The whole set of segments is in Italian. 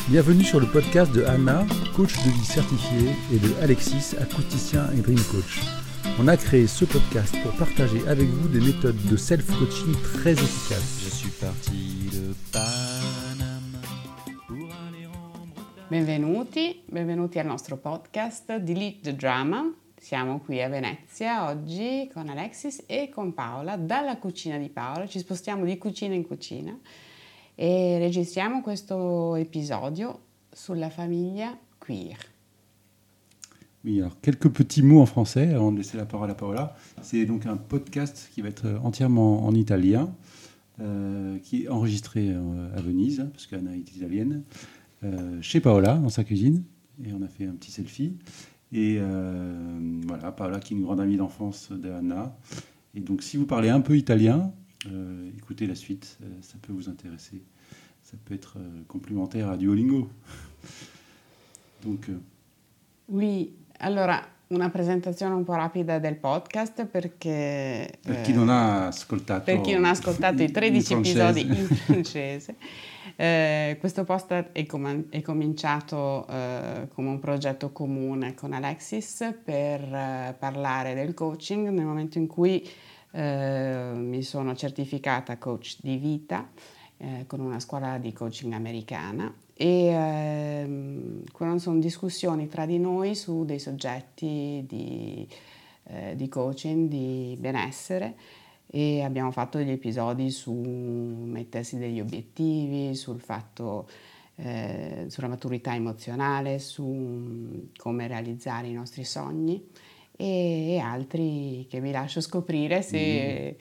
Bienvenue sur le podcast de Anna, coach de vie certifiée, et de Alexis, acousticien et dream coach. On a créé ce podcast pour partager avec vous des méthodes de self-coaching très efficaces. Je suis parti de Panama pour aller rendre... Benvenuti al nostro podcast Delete the Drama. Siamo qui a Venezia oggi con Alexis e con Paola. Dalla cucina di Paola ci spostiamo di cucina in cucina et registriamo questo épisode sulla famiglia queer. Oui, alors quelques petits mots en français avant de laisser la parole à Paola. C'est donc un podcast qui va être entièrement en italien, qui est enregistré à Venise, parce qu'Anna est italienne, chez Paola, dans sa cuisine, et on a fait un petit selfie. Et voilà, Paola qui est une grande amie d'enfance d'Anna. Et donc si vous parlez un peu italien, écoutez la suite, ça peut vous intéresser. Ça peut être complémentaire à Duolingo. Donc, Oui, allora una presentazione un po' rapida del podcast perché... Per chi non ha ascoltato i 13 in episodi in francese. Questo post è cominciato come un progetto comune con Alexis per parlare del coaching nel momento in cui mi sono certificata coach di vita con una scuola di coaching americana e sono discussioni tra di noi su dei soggetti di coaching, di benessere, e abbiamo fatto degli episodi su mettersi degli obiettivi, sul fatto sulla maturità emozionale, su come realizzare i nostri sogni e altri che vi lascio scoprire se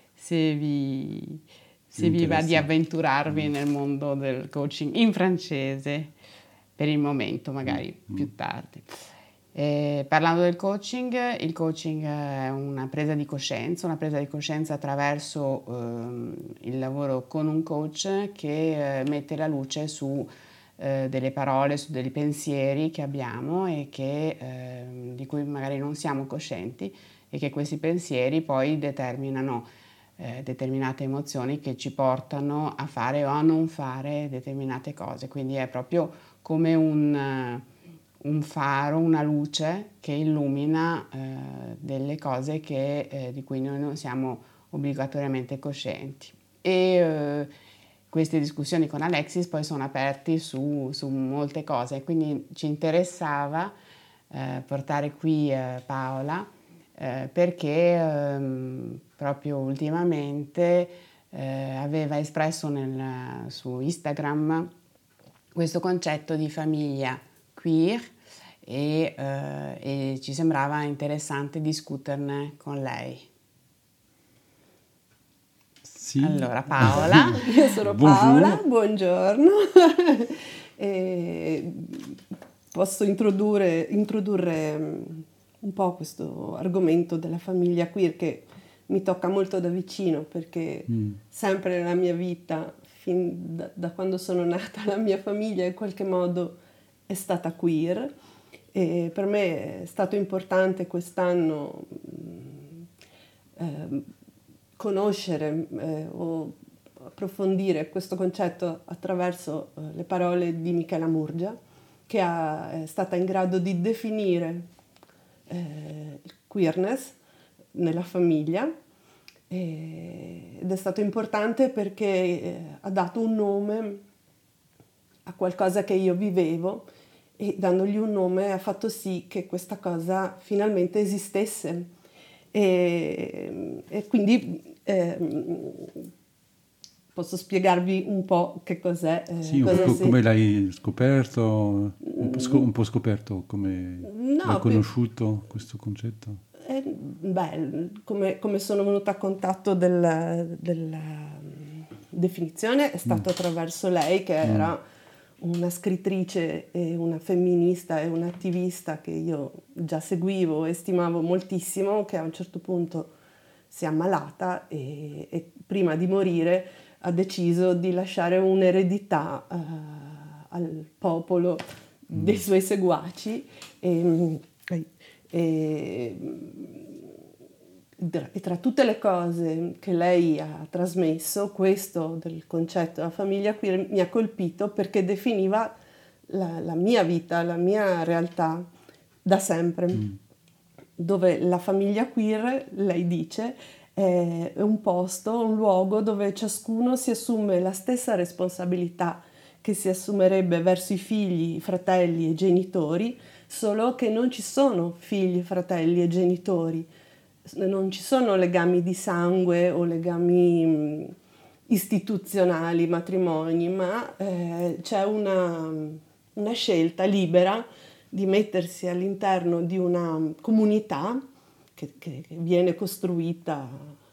vi va di avventurarvi nel mondo del coaching in francese per il momento, magari più tardi. Parlando del coaching, il coaching è una presa di coscienza attraverso il lavoro con un coach che mette la luce su delle parole, su dei pensieri che abbiamo e di cui magari non siamo coscienti, e che questi pensieri poi determinano determinate emozioni che ci portano a fare o a non fare determinate cose. Quindi è proprio come un faro, una luce che illumina delle cose di cui noi non siamo obbligatoriamente coscienti. E queste discussioni con Alexis poi sono aperti su molte cose, quindi ci interessava portare qui Paola perché proprio ultimamente aveva espresso su Instagram questo concetto di famiglia queer e ci sembrava interessante discuterne con lei. Sì. Allora Paola. Io sono Paola, buongiorno. Posso introdurre un po' questo argomento della famiglia queer che mi tocca molto da vicino, perché sempre nella mia vita, fin da quando sono nata, la mia famiglia in qualche modo è stata queer, e per me è stato importante quest'anno conoscere o approfondire questo concetto attraverso le parole di Michela Murgia, che è stata in grado di definire il queerness nella famiglia, ed è stato importante perché ha dato un nome a qualcosa che io vivevo, e dandogli un nome ha fatto sì che questa cosa finalmente esistesse. E quindi posso spiegarvi un po' che cos'è. Sì, come l'hai scoperto, un po' scoperto, come l'hai conosciuto questo concetto? Come sono venuta a contatto della definizione è stato attraverso lei, che era una scrittrice e una femminista e un'attivista che io già seguivo e stimavo moltissimo, che a un certo punto si è ammalata e prima di morire ha deciso di lasciare un'eredità al popolo dei suoi seguaci e tra tutte le cose che lei ha trasmesso, questo del concetto della famiglia queer mi ha colpito perché definiva la mia vita, la mia realtà da sempre, dove la famiglia queer, lei dice, è un posto, un luogo dove ciascuno si assume la stessa responsabilità che si assumerebbe verso i figli, i fratelli e i genitori, solo che non ci sono figli, fratelli e genitori, non ci sono legami di sangue o legami istituzionali, matrimoni, ma c'è una scelta libera di mettersi all'interno di una comunità che viene costruita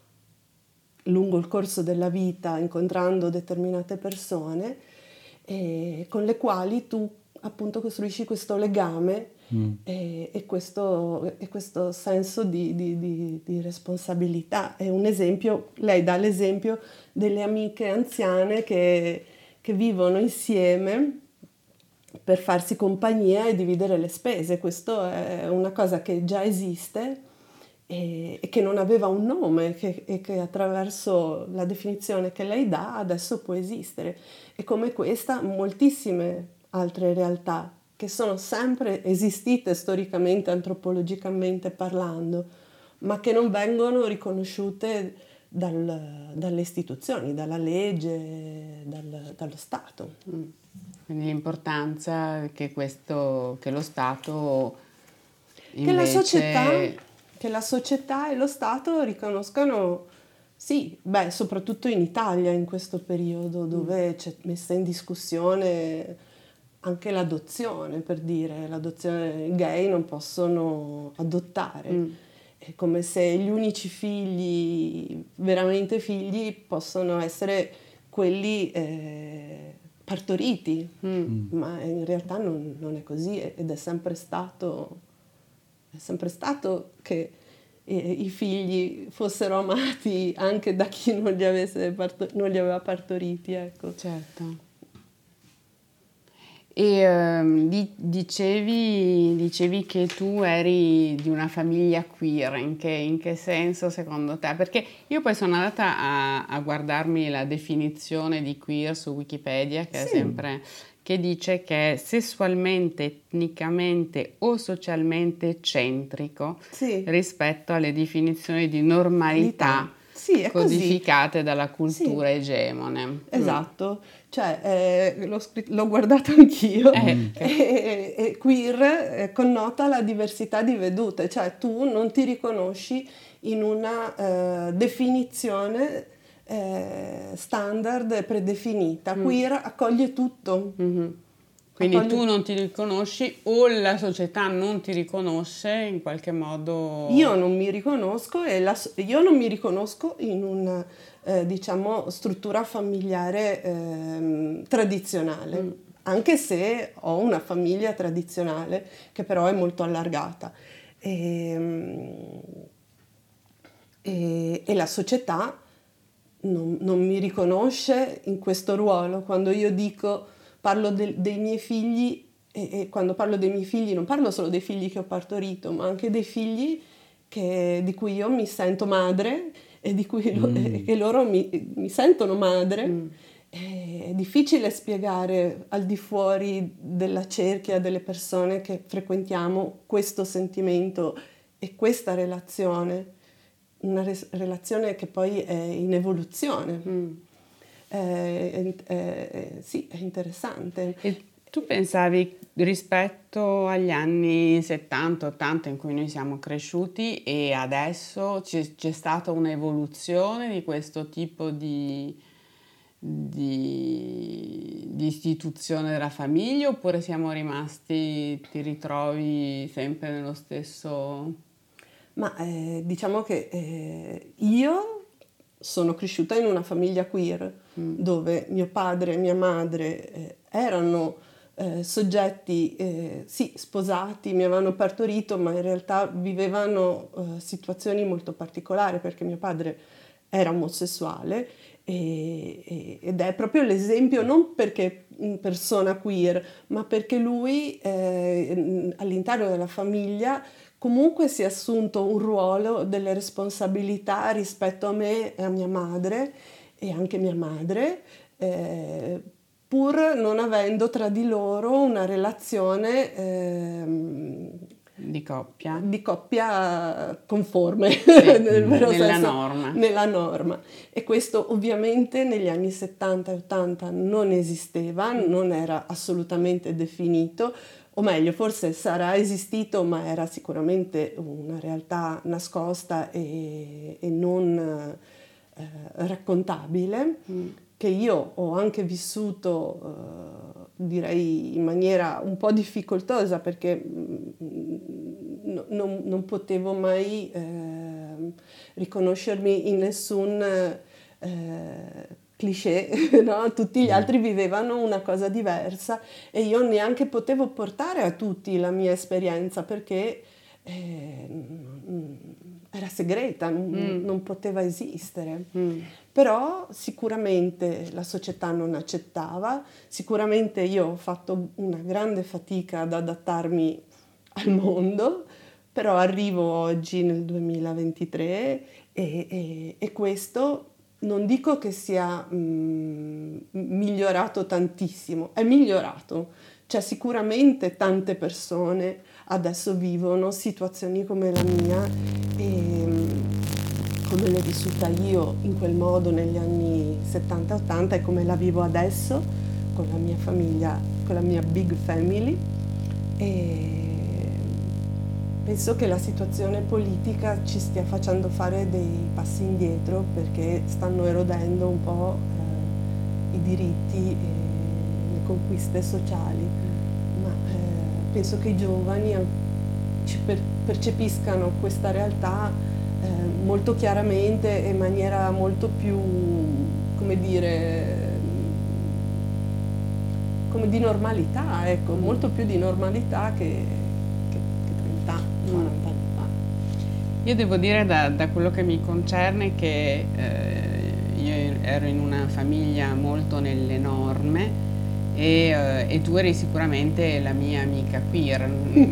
lungo il corso della vita, incontrando determinate persone, con le quali tu appunto costruisci questo legame e questo senso di responsabilità. È un esempio, lei dà l'esempio delle amiche anziane che vivono insieme per farsi compagnia e dividere le spese. Questo è una cosa che già esiste e che non aveva un nome e che attraverso la definizione che lei dà adesso può esistere. E come questa moltissime altre realtà che sono sempre esistite storicamente, antropologicamente parlando, ma che non vengono riconosciute dalle istituzioni, dalla legge, dallo Stato. Quindi l'importanza che lo Stato invece... Che la società e lo Stato riconoscano, sì, soprattutto in Italia in questo periodo dove c'è messa in discussione anche l'adozione, per dire, l'adozione gay non possono adottare. È come se gli unici figli, veramente figli, possono essere quelli partoriti, ma in realtà non è così ed è sempre stato che i figli fossero amati anche da chi non li aveva partoriti, ecco. Certo. E dicevi che tu eri di una famiglia queer, in che senso secondo te? Perché io poi sono andata a guardarmi la definizione di queer su Wikipedia, che è sempre... che dice che è sessualmente, etnicamente o socialmente eccentrico rispetto alle definizioni di normalità codificate dalla cultura egemone. Esatto, cioè l'ho guardato anch'io e queer connota la diversità di vedute, cioè tu non ti riconosci in una definizione standard predefinita. Queer accoglie tutto. Quindi tu non ti riconosci o la società non ti riconosce in qualche modo? Io non mi riconosco io non mi riconosco in una diciamo struttura familiare tradizionale, anche se ho una famiglia tradizionale che però è molto allargata e la società non mi riconosce in questo ruolo. Quando io parlo dei miei figli e quando parlo dei miei figli non parlo solo dei figli che ho partorito, ma anche dei figli di cui io mi sento madre e di cui che loro mi sentono madre. È difficile spiegare al di fuori della cerchia delle persone che frequentiamo questo sentimento e questa relazione. Una relazione che poi è in evoluzione. Sì, è interessante. E tu pensavi rispetto agli anni 70-80 in cui noi siamo cresciuti e adesso c'è stata un'evoluzione di questo tipo di istituzione della famiglia, oppure siamo rimasti, ti ritrovi sempre nello stesso... Ma diciamo che io sono cresciuta in una famiglia queer dove mio padre e mia madre erano soggetti sì, sposati, mi avevano partorito, ma in realtà vivevano situazioni molto particolari perché mio padre era omosessuale ed è proprio l'esempio, non perché persona queer, ma perché lui all'interno della famiglia comunque si è assunto un ruolo, delle responsabilità rispetto a me e a mia madre e anche mia madre, pur non avendo tra di loro una relazione di coppia conforme nella nella norma. E questo ovviamente negli anni 70 e 80 non esisteva, non era assolutamente definito, o meglio, forse sarà esistito, ma era sicuramente una realtà nascosta e non raccontabile, che io ho anche vissuto, direi in maniera un po' difficoltosa, perché non potevo mai riconoscermi in nessun cliché, no? Tutti gli altri vivevano una cosa diversa e io neanche potevo portare a tutti la mia esperienza, perché era segreta, non poteva esistere. Però sicuramente la società non accettava, sicuramente io ho fatto una grande fatica ad adattarmi al mondo, però arrivo oggi nel 2023 e questo non dico che sia migliorato tantissimo, è migliorato. Cioè sicuramente tante persone adesso vivono situazioni come la mia e come l'ho vissuta io in quel modo negli anni 70-80 e come la vivo adesso con la mia famiglia, con la mia big family, e penso che la situazione politica ci stia facendo fare dei passi indietro, perché stanno erodendo un po' i diritti e le conquiste sociali, ma penso che i giovani percepiscano questa realtà molto chiaramente e in maniera molto più, come dire, come di normalità, ecco, molto più di normalità che 30, 40 anni fa. Io devo dire da quello che mi concerne che io ero in una famiglia molto nelle norme e tu eri sicuramente la mia amica queer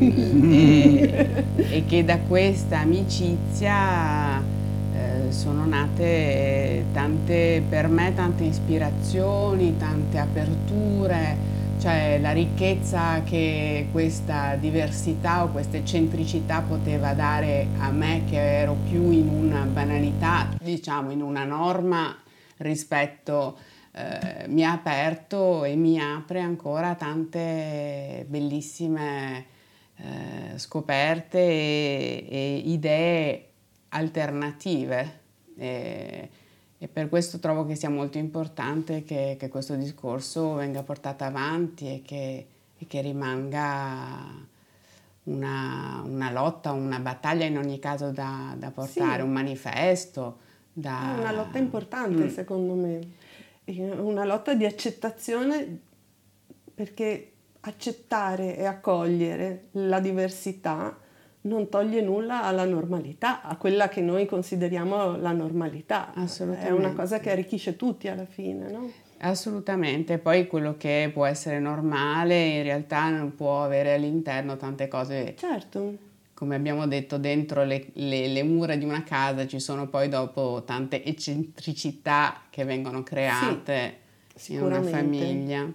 e che da questa amicizia sono nate per me tante ispirazioni, tante aperture, cioè la ricchezza che questa diversità o questa eccentricità poteva dare a me, che ero più in una banalità, diciamo in una norma rispetto, mi ha aperto e mi apre ancora tante bellissime scoperte e idee alternative. E per questo trovo che sia molto importante che questo discorso venga portato avanti e che rimanga una lotta, una battaglia in ogni caso da portare, sì, un manifesto. È una lotta importante secondo me, una lotta di accettazione, perché accettare e accogliere la diversità non toglie nulla alla normalità, a quella che noi consideriamo la normalità. Assolutamente. È una cosa che arricchisce tutti alla fine, no? Assolutamente, poi quello che può essere normale in realtà non può avere all'interno tante cose. Certo. Come abbiamo detto, dentro le mura di una casa ci sono poi dopo tante eccentricità che vengono create in una famiglia.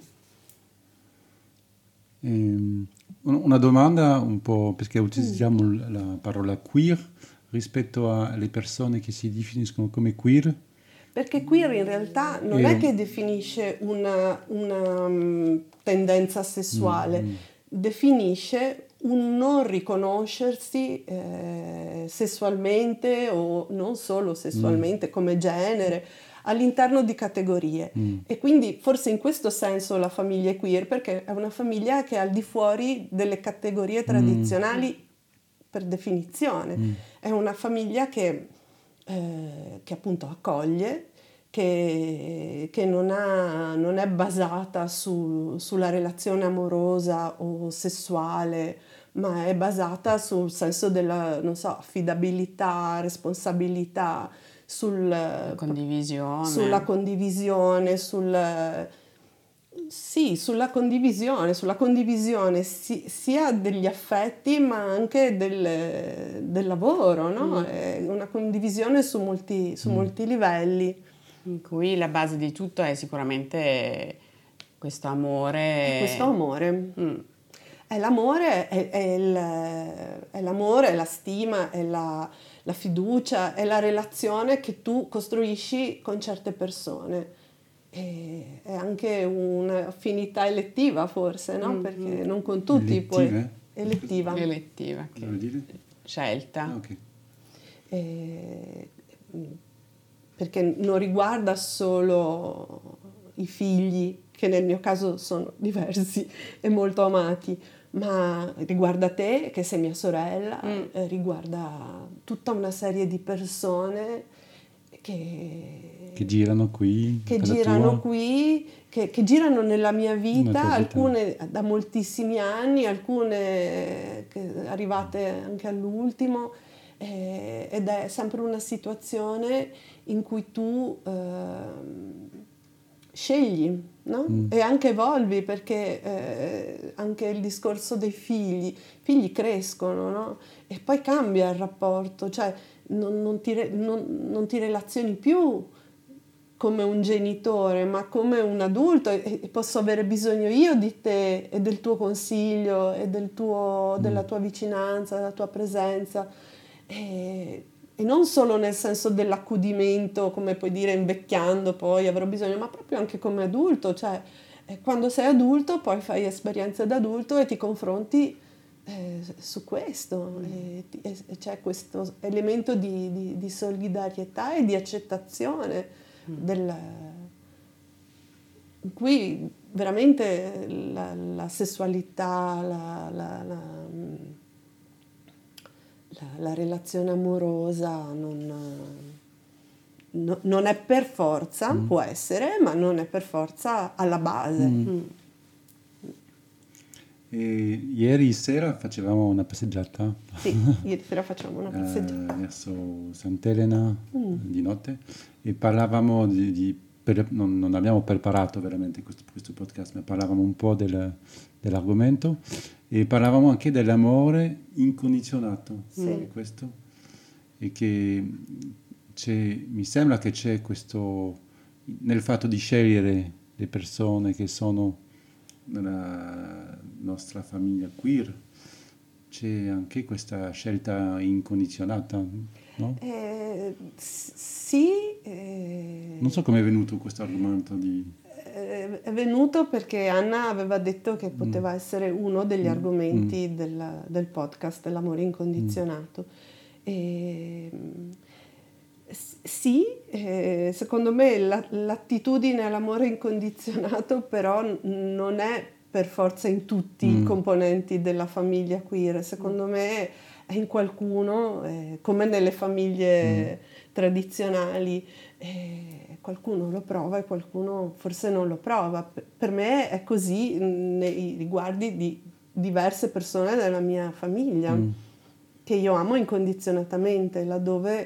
Una domanda un po', perché utilizziamo la parola queer rispetto alle persone che si definiscono come queer. Perché queer in realtà non è che definisce una tendenza sessuale, definisce un non riconoscersi sessualmente o non solo sessualmente come genere all'interno di categorie. E quindi forse in questo senso la famiglia è queer, perché è una famiglia che è al di fuori delle categorie tradizionali per definizione. È una famiglia che appunto accoglie, che non è basata sulla relazione amorosa o sessuale, ma è basata sul senso della, non so, affidabilità, responsabilità, sulla condivisione, sulla condivisione sia degli affetti ma anche del lavoro, no? È una condivisione su molti livelli. In cui la base di tutto è sicuramente questo amore. Questo amore. È l'amore, è l'amore, è la stima, è la fiducia, è la relazione che tu costruisci con certe persone. E è anche un'affinità elettiva forse, no? Perché non con tutti Elettiva? Elettiva, Cosa vuol dire? scelta. Ah, ok. Perché non riguarda solo i figli, che nel mio caso sono diversi e molto amati, ma riguarda te, che sei mia sorella, riguarda tutta una serie di persone che girano qui, che per la girano tua- qui, che girano nella mia Nella vita, tua vita. alcune da moltissimi anni, alcune arrivate anche all'ultimo, ed è sempre una situazione in cui tu scegli, no? E anche evolvi, perché anche il discorso dei figli, i figli crescono, no? E poi cambia il rapporto, cioè non ti relazioni più come un genitore, ma come un adulto, e posso avere bisogno io di te e del tuo consiglio e della tua vicinanza, della tua presenza, e non solo nel senso dell'accudimento, come puoi dire invecchiando poi avrò bisogno, ma proprio anche come adulto, cioè quando sei adulto poi fai esperienze da adulto e ti confronti su questo, e c'è questo elemento di solidarietà e di accettazione in cui veramente la sessualità, la relazione amorosa non è per forza, può essere, ma non è per forza alla base. E ieri sera facevamo una passeggiata Sì, ieri sera facciamo una passeggiata. verso Sant'Elena di notte e parlavamo non abbiamo preparato veramente questo podcast, ma parlavamo un po' dell'argomento e parlavamo anche dell'amore incondizionato. Sì. Questo, e che mi sembra che c'è questo nel fatto di scegliere le persone che sono nella nostra famiglia queer, c'è anche questa scelta incondizionata, no? Sì. Non so come è venuto questo argomento È venuto perché Anna aveva detto che poteva essere uno degli argomenti del podcast, l'amore incondizionato. Sì, secondo me l'attitudine all'amore incondizionato però non è per forza in tutti i componenti della famiglia queer, secondo me è in qualcuno, come nelle famiglie tradizionali, qualcuno lo prova e qualcuno forse non lo prova. Per me è così nei riguardi di diverse persone della mia famiglia, che io amo incondizionatamente, laddove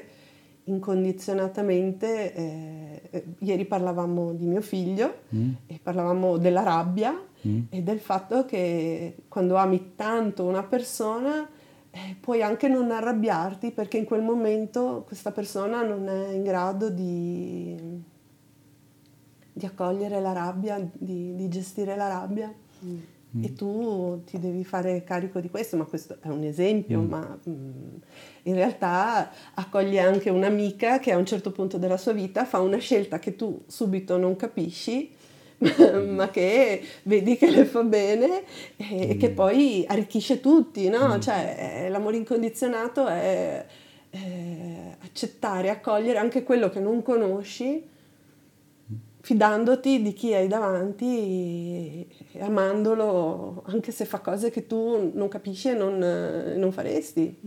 incondizionatamente ieri parlavamo di mio figlio e parlavamo della rabbia e del fatto che quando ami tanto una persona puoi anche non arrabbiarti perché in quel momento questa persona non è in grado di accogliere la rabbia, di gestire la rabbia. E tu ti devi fare carico di questo, ma questo è un esempio, ma in realtà accoglie anche un'amica che a un certo punto della sua vita fa una scelta che tu subito non capisci, ma che vedi che le fa bene e che poi arricchisce tutti, no? Cioè l'amore incondizionato è accettare, accogliere anche quello che non conosci, fidandoti di chi hai davanti e amandolo anche se fa cose che tu non capisci e non faresti.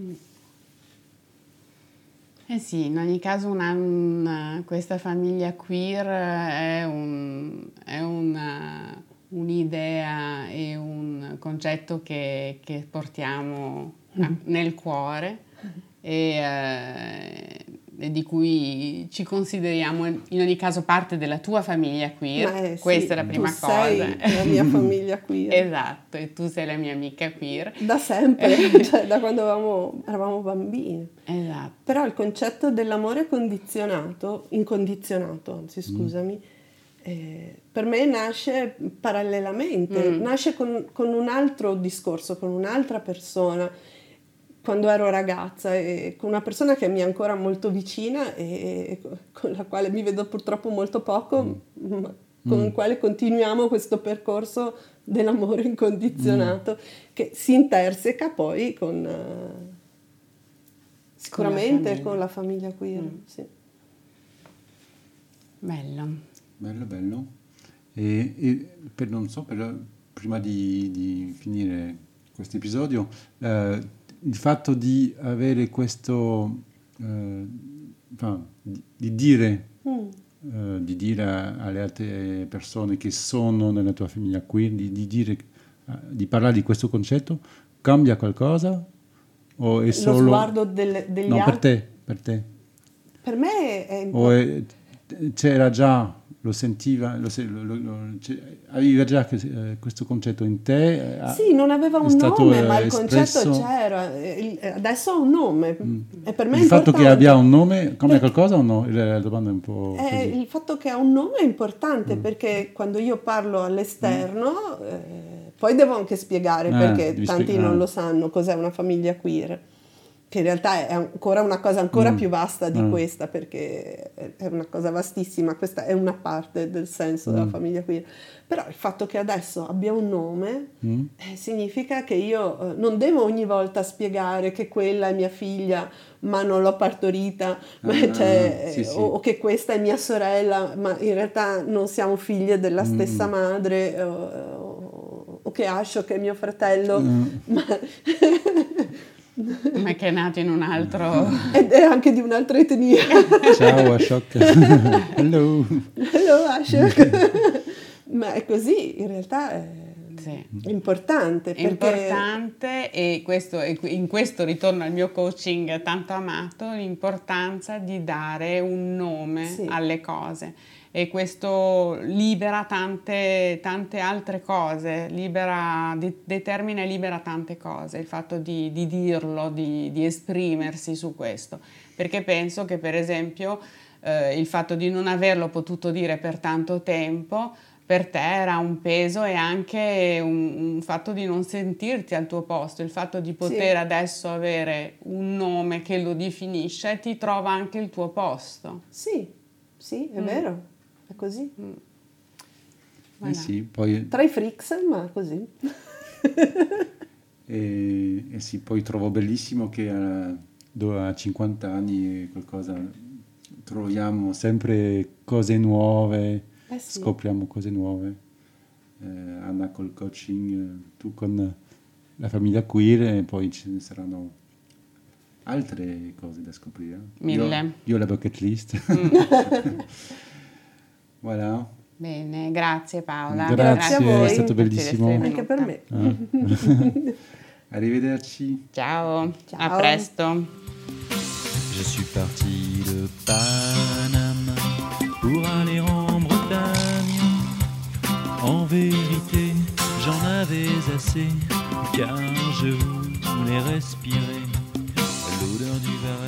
Eh sì, in ogni caso questa famiglia queer è un'idea e un concetto che portiamo nel cuore e di cui ci consideriamo in ogni caso parte della tua famiglia queer. Questa è la prima cosa. Sei la mia famiglia queer. Esatto, e tu sei la mia amica queer. Da sempre, cioè da quando eravamo bambini. Esatto. Però il concetto dell'amore incondizionato, anzi scusami, per me nasce parallelamente, nasce con un altro discorso, con un'altra persona, quando ero ragazza, e con una persona che mi è ancora molto vicina e con la quale mi vedo purtroppo molto poco, ma con il quale continuiamo questo percorso dell'amore incondizionato che si interseca poi sicuramente con la famiglia queer. Sì. Bello. Non so, prima di finire questo episodio, il fatto di avere questo, di dire alle altre persone che sono nella tua famiglia queer, di parlare di questo concetto, cambia qualcosa? O è solo... Lo sguardo degli no, altri? per te. Per me è importante. C'era già, lo sentiva, aveva già questo concetto in te? Sì, non aveva un nome, ma il concetto c'era. Adesso ha un nome. E per me il fatto che abbia un nome cambia qualcosa o no? La domanda è un po' così. Il fatto che ha un nome è importante perché quando io parlo all'esterno, poi devo anche spiegare perché tanti non lo sanno cos'è una famiglia queer. Che in realtà è ancora una cosa ancora più vasta di questa, perché è una cosa vastissima, questa è una parte del senso della famiglia queer. Però il fatto che adesso abbia un nome significa che io non devo ogni volta spiegare che quella è mia figlia ma non l'ho partorita, sì. O che questa è mia sorella ma in realtà non siamo figlie della stessa madre, o che Ashok è mio fratello ma che è nato in un altro... ed è anche di un'altra etnia. Ciao Ashok. Hello Ashok. Ma è così, in realtà è importante. È importante, e in questo ritorno al mio coaching tanto amato, l'importanza di dare un nome alle cose. E questo libera tante altre cose, determina e libera tante cose, il fatto di dirlo, di esprimersi su questo, perché penso che per esempio il fatto di non averlo potuto dire per tanto tempo per te era un peso, e anche un fatto di non sentirti al tuo posto, il fatto di poter adesso avere un nome che lo definisce ti trova anche il tuo posto. Sì, è vero. È così. Sì, poi... Tra i freaks, ma così. Sì, poi trovo bellissimo che a 50 anni troviamo sempre cose nuove, scopriamo cose nuove. Anna col coaching, tu con la famiglia queer, e poi ce ne saranno altre cose da scoprire. 1000. Io la bucket list. Voilà. Bene, grazie Paola. Grazie a voi. È stato bellissimo. Anche per me. Arrivederci. Ciao, a presto. Je suis parti de Paname pour aller en Bretagne. En vérité, j'en avais assez, car je voulais respirer l'odeur du Var